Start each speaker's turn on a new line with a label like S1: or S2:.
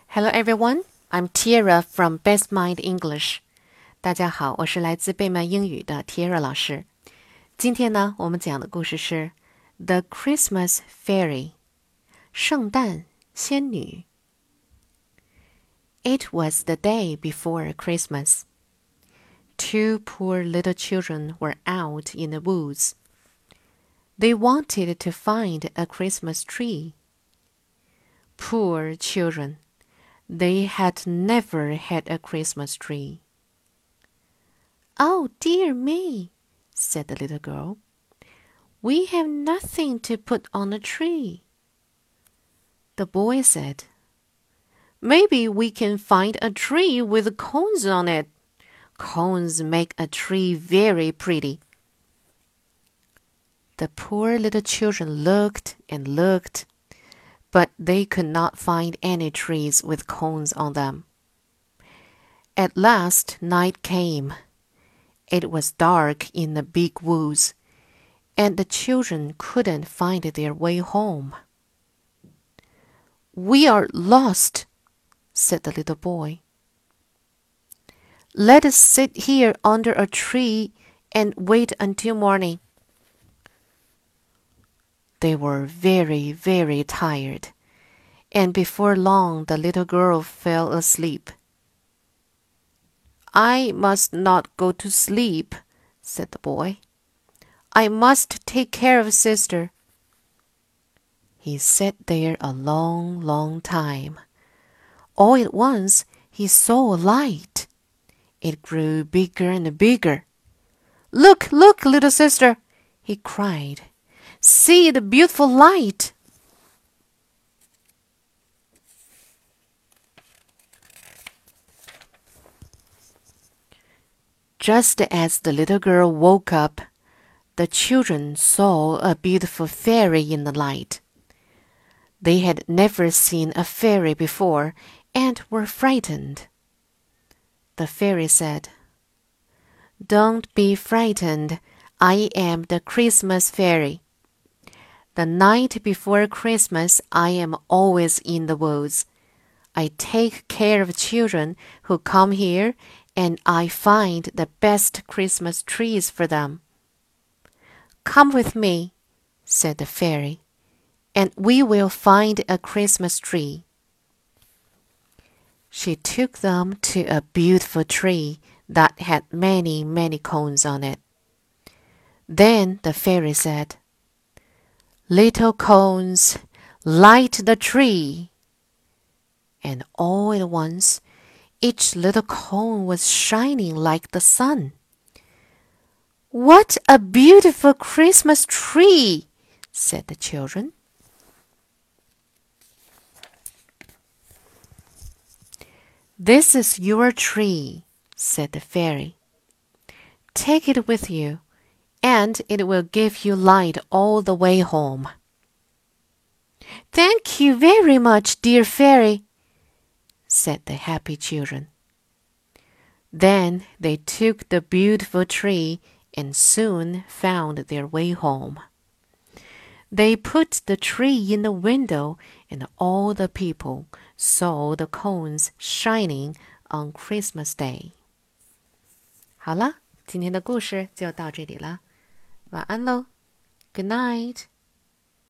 S1: Hello everyone, I'm Tiara from Best Mind English. 大家好，我是来自贝曼英语的 Tiara 老师。今天呢，我们讲的故事是 The Christmas Fairy 圣诞仙女。It was the day before Christmas. Two poor little children were out in the woods. They wanted to find a Christmas tree. Poor children. They had never had a Christmas tree. "Oh, dear me," said the little girl. "We have nothing to put on the tree." The boy said, "Maybe we can find a tree with cones on it. Cones make a tree very pretty." The poor little children looked and looked, but they could not find any trees with cones on them. At last night came. It was dark in the big woods, and the children couldn't find their way home. "We are lost," said the little boy. "Let us sit here under a tree and wait until morning." They were very, very tired, and before long the little girl fell asleep. "I must not go to sleep," said the boy. "I must take care of sister." He sat there a long, long time. All at once he saw a light. It grew bigger and bigger. "Look, look, little sister," he cried. "See the beautiful light." Just as the little girl woke up, the children saw a beautiful fairy in the light. They had never seen a fairy before and were frightened. The fairy said, "Don't be frightened. I am the Christmas fairy. The night before Christmas, I am always in the woods. I take care of children who come here, and I find the best Christmas trees for them." "Come with me," said the fairy, "and we will find a Christmas tree." She took them to a beautiful tree that had many, many cones on it. Then the fairy said, "Little cones, light the tree." And all at once, each little cone was shining like the sun. "What a beautiful Christmas tree!" said the children. "This is your tree," said the fairy. "Take it with you, and it will give you light all the way home." "Thank you very much, dear fairy," said the happy children. Then they took the beautiful tree and soon found their way home. They put the tree in the window, and all the people saw the cones shining on Christmas Day. 好了，今天的故事就到这里了，晚安喽 ，Good night。